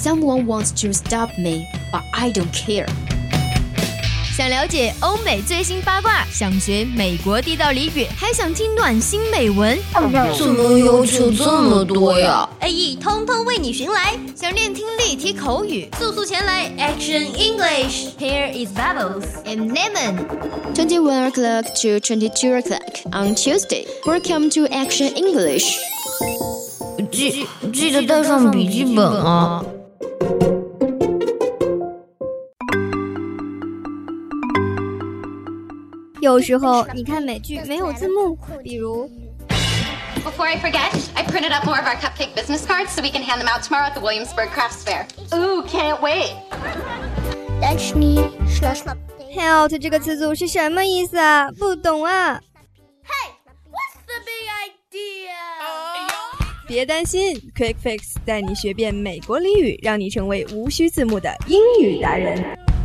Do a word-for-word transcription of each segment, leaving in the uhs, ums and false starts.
Someone wants to stop me, but I don't care. 想了解欧美最新八卦，想学美国地道俚语，还想听暖心美文， 怎么要求这么多呀 ？A E 通通为你寻来。想练听力、提口语，速速前来 Action English. Here is Bubbles and Lemon. twenty-one o'clock to twenty-two o'clock on Tuesday. Welcome to Action English. 记记得带上笔记本啊。 有时候你看美剧没有字幕，比如 Before I forget, I printed up more of our cupcake business cards so we can hand them out tomorrow at the Williamsburg Crafts Fair. Ooh, can't wait. Help 这个词组是什么意思啊？不懂啊。 Hey, what's the big idea? 别担心 Quick Fix 带你学遍美国俚语，让你成为无需字幕的英语达人。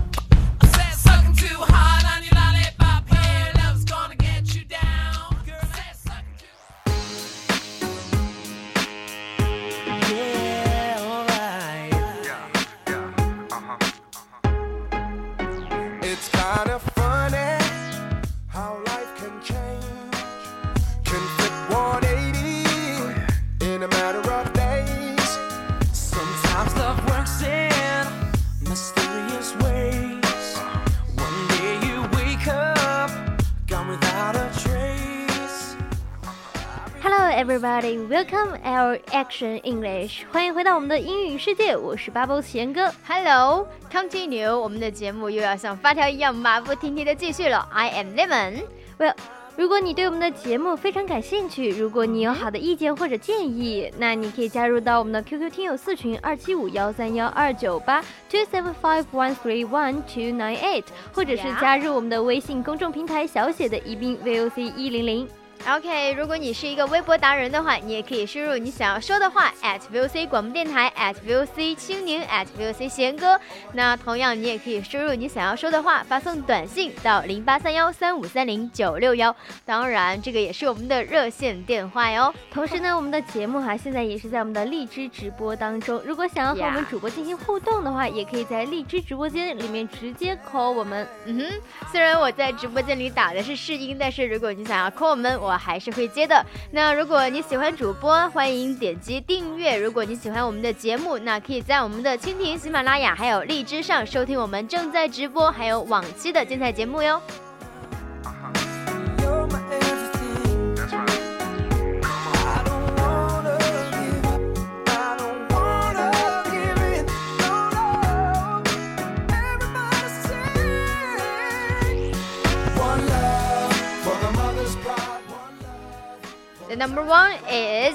Everybody, welcome our Action English. 欢迎回到我们的英语世界，我是 Bubbles 贤哥。 Hello, continue. 我们的节目又要像发条一样马不停蹄的继续了。I am Lemon. Well, 如果你对我们的节目非常感兴趣，如果你有好的意见或者建议，那你可以加入到我们的 Q Q 听友四群二七五幺三幺二九八 two seven five one three one two nine eight， 或者是加入我们的微信公众平台小写的宜宾 V O C 一零零。 OK， 如果你是一个微博达人的话，你也可以输入你想要说的话 at V O C 广播电台 at V O C 青年 at V O C 贤哥。那同样你也可以输入你想要说的话，发送短信到零八三幺三五三零九六一。当然，这个也是我们的热线电话哟。 同时呢，我们的节目哈、啊、现在也是在我们的荔枝直播当中。如果想要和我们主播进行互动的话， yeah. 也可以在荔枝直播间里面直接 call 我们。 嗯哼，虽然我在直播间里打的是试音，但是如果你想要 call 我们，我还是会接的。那如果你喜欢主播，欢迎点击订阅。如果你喜欢我们的节目，那可以在我们的蜻蜓、喜马拉雅还有荔枝上收听我们正在直播还有往期的精彩节目哟。The number one is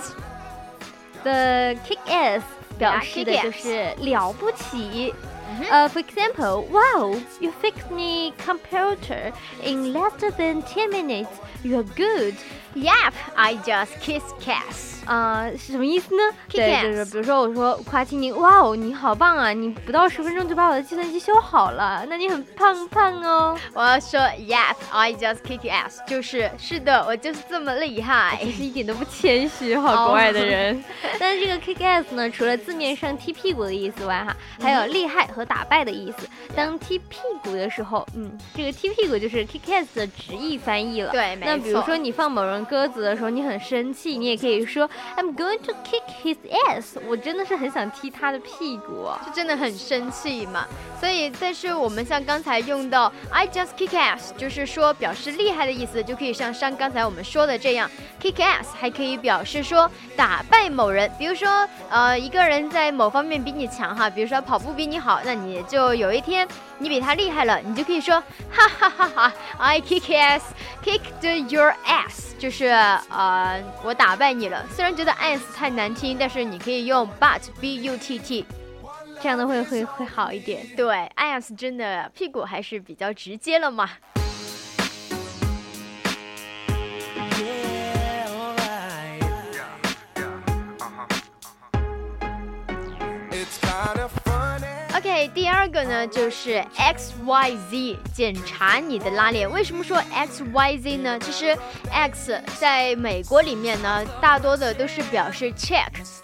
the kick ass， 表示的就是了不起。Uh, for example, wow, you fixed me computer in less than ten minutes. You're good. Yep, I just kiss Cass. 啊、呃，是什么意思呢？ Kick 对， ass. 就是比如说我说夸青宁，哇哦，你好棒啊！你不到十分钟就把我的计算机修好了，那你很胖胖哦。 我要说 Yep, I just kick ass， 就是是的，我就是这么厉害。 其实一点都不谦虚，好国外的人。Oh. 但是这个 kick ass 呢，除了字面上踢屁股的意思外，哈，还有厉害和打败的意思。当踢屁股的时候，嗯，这个踢屁股就是 kick ass 的直译翻译了。 对，没错。 那比如说你放某人鸽子的时候，你很生气，你也可以说 I'm going to kick his ass。我真的是很想踢他的屁股， 就真的很生气嘛。所以，但是我们像刚才用到 I just kick ass， 就是说表示厉害的意思，就可以像像刚才我们说的这样 ，kick ass 还可以表示说打败某人。比如说，呃，一个人在某方面比你强哈，比如说跑步比你好，那你就有一天你比他厉害了，你就可以说哈哈哈哈 I kick ass，kicked your ass， 就是呃我打败你了。虽然觉得 ass 太难听，但是你可以用 but b u t t。 这样的会会会好一点。 对 ass 真的屁股还是比较直接了嘛。OK， 第二个呢就是 X Y Z， 检查你的拉链。为什么说 X Y Z 呢？其实 X 在美国里面呢，大多的都是表示 check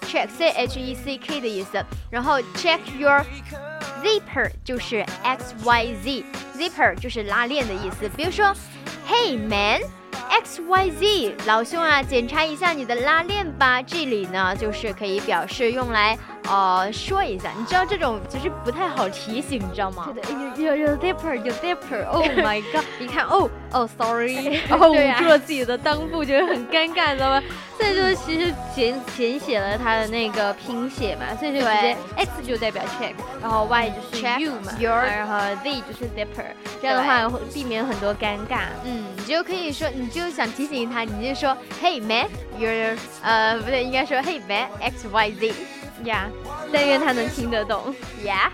check C H E C K 的意思，然后 check your zipper 就是 X Y Z， zipper 就是拉链的意思。比如说 Hey man X Y Z 老兄啊，检查一下你的拉链吧。这里呢就是可以表示用来呃说一下，你知道这种其实不太好提醒，你知道吗？ 对的，有有有 zipper 有 zipper，Oh my god！ 一看哦哦 sorry， 然后捂住了自己的裆部，就会很尴尬，你知道吗？所以就其实简简写了它的那个拼写嘛，所以就直接 X 就代表 check， 然后 Y 就是 you 嘛， your， 然后 Z 就是 zipper， 这样的话会避免很多尴尬。 嗯，你就可以说，你就想提醒他，你就说 Hey man you're 呃不对，应该说 Hey man X Y Z 呀、yeah, 但愿他能听得懂 yeah。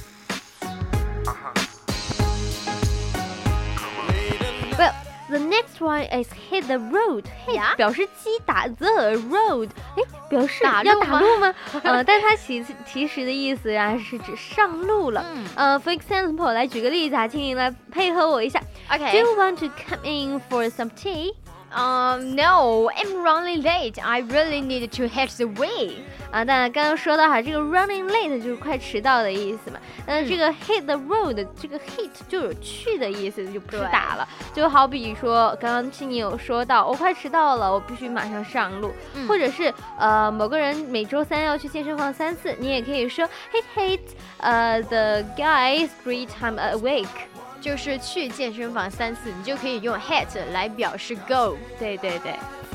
Well, the next one is hit the road. Hit、yeah? 表示击打 the road， 哎，表示要打路吗？呃，但它其其实的意思啊是指上路了。嗯、呃 ，For example， 来举个例子啊，请你来配合我一下。 Okay. Do you want to come in for some tea?Um, no, I'm running late. I really need to hit the way. 啊，当然刚刚说到哈，这个 running late 就是快迟到的意思嘛。嗯，这个 hit the road， 这个 hit 就有去的意思，就不是打了。就好比说，刚刚青你有说到，我快迟到了，我必须马上上路。嗯、或者是呃，某个人每周三要去健身房三次，你也可以说 hit hit， 呃、uh, ，the guy is three times a week。 就是去健身房三次，你就可以用 hit 来表示 go。 对对对。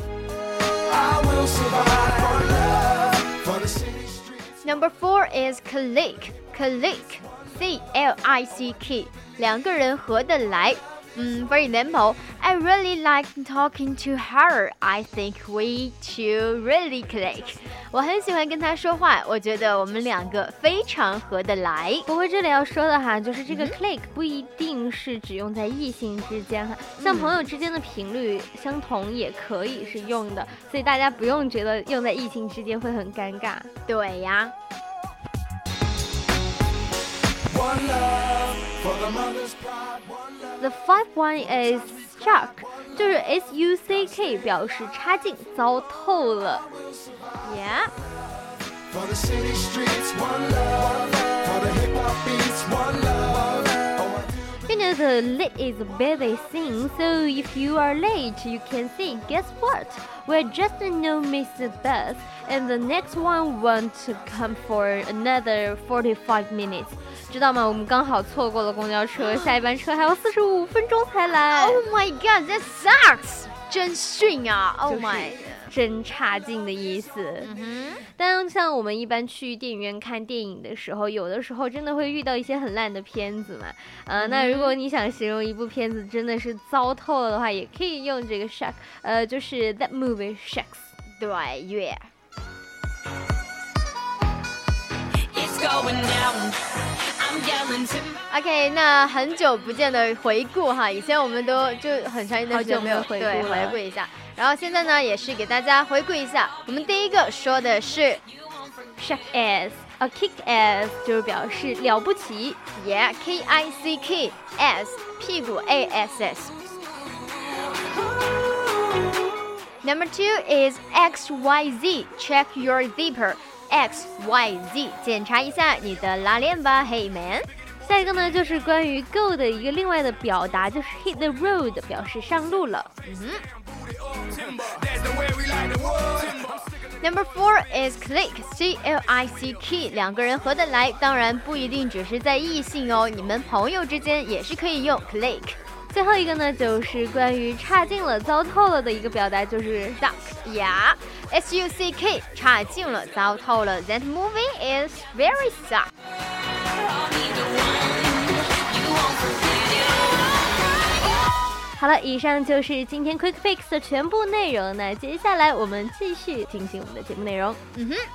Number four is click. Click, C L I C K， 两个人合得来。嗯 ，For example, I really like talking to her. I think we two really click. 我很喜欢跟她说话，我觉得我们两个非常合得来。 不过这里要说的哈，就是这个 click 不一定是只用在异性之间哈，嗯、像朋友之间的频率相同也可以是用的，所以大家不用觉得用在异性之间会很尴尬。 对呀。 The five one is stuck， 就是 S U C K 表示差劲、糟透了。 Yeah。 You know the late is a busy thing, so if you are late, you can say, guess what? We're just no miss the bus, and the next one won't come for another forty-five minutes. 知道吗？我们刚好错过了公交车，下一班车还要四十五分钟才来。 Oh my god, that sucks！ 真逊啊 ！Oh my， 真差劲的意思。嗯哼。但像我们一般去电影院看电影的时候，有的时候真的会遇到一些很烂的片子嘛。呃，嗯、那如果你想形容一部片子真的是糟透了的话，也可以用这个 suck， 呃，就是 that movie sucks。 对，yeah。OK， 那很久不见的回顾哈，以前我们都就很长一段时间没有回顾对回顾一下，然后现在呢也是给大家回顾一下。我们第一个说的是 shake ass， 啊 kick ass 就是表示了不起 ，yeah K I C K S 屁股 A S S。Number two is X Y Z check your zipper。X Y Z 检查一下你的拉链吧 Hey man。 下一个呢就是关于 go 的一个另外的表达，就是 hit the road 表示上路了。嗯哼。 Number four is click C L I C K 两个人合得来，当然不一定只是在异性哦，你们朋友之间也是可以用 click。 最后一个呢就是关于差劲了糟透了的一个表达，就是 suck yeah S U C K 差劲了糟透了 That movie is very suck。 好了，以上就是今天 Quick Fix 的全部内容，那接下来我们继续进行我们的节目内容。 嗯哼。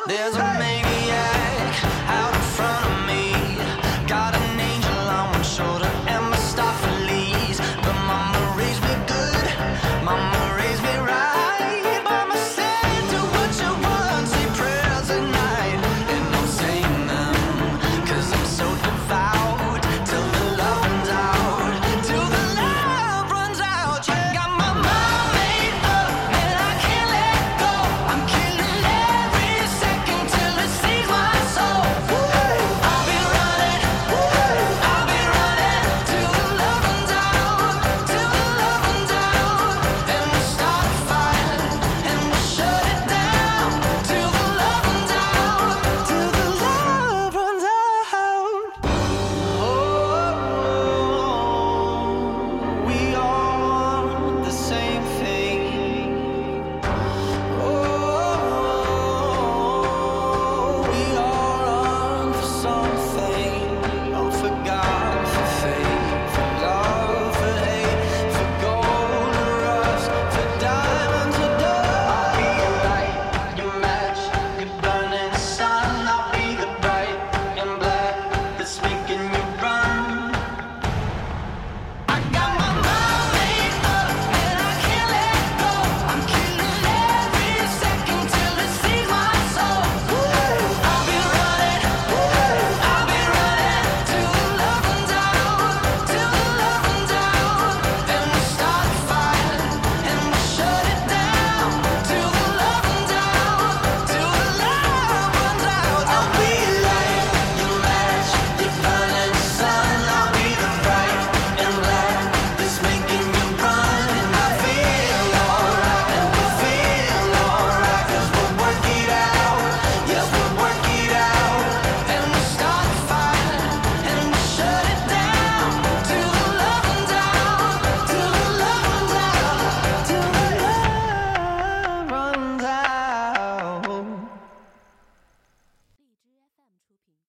There's a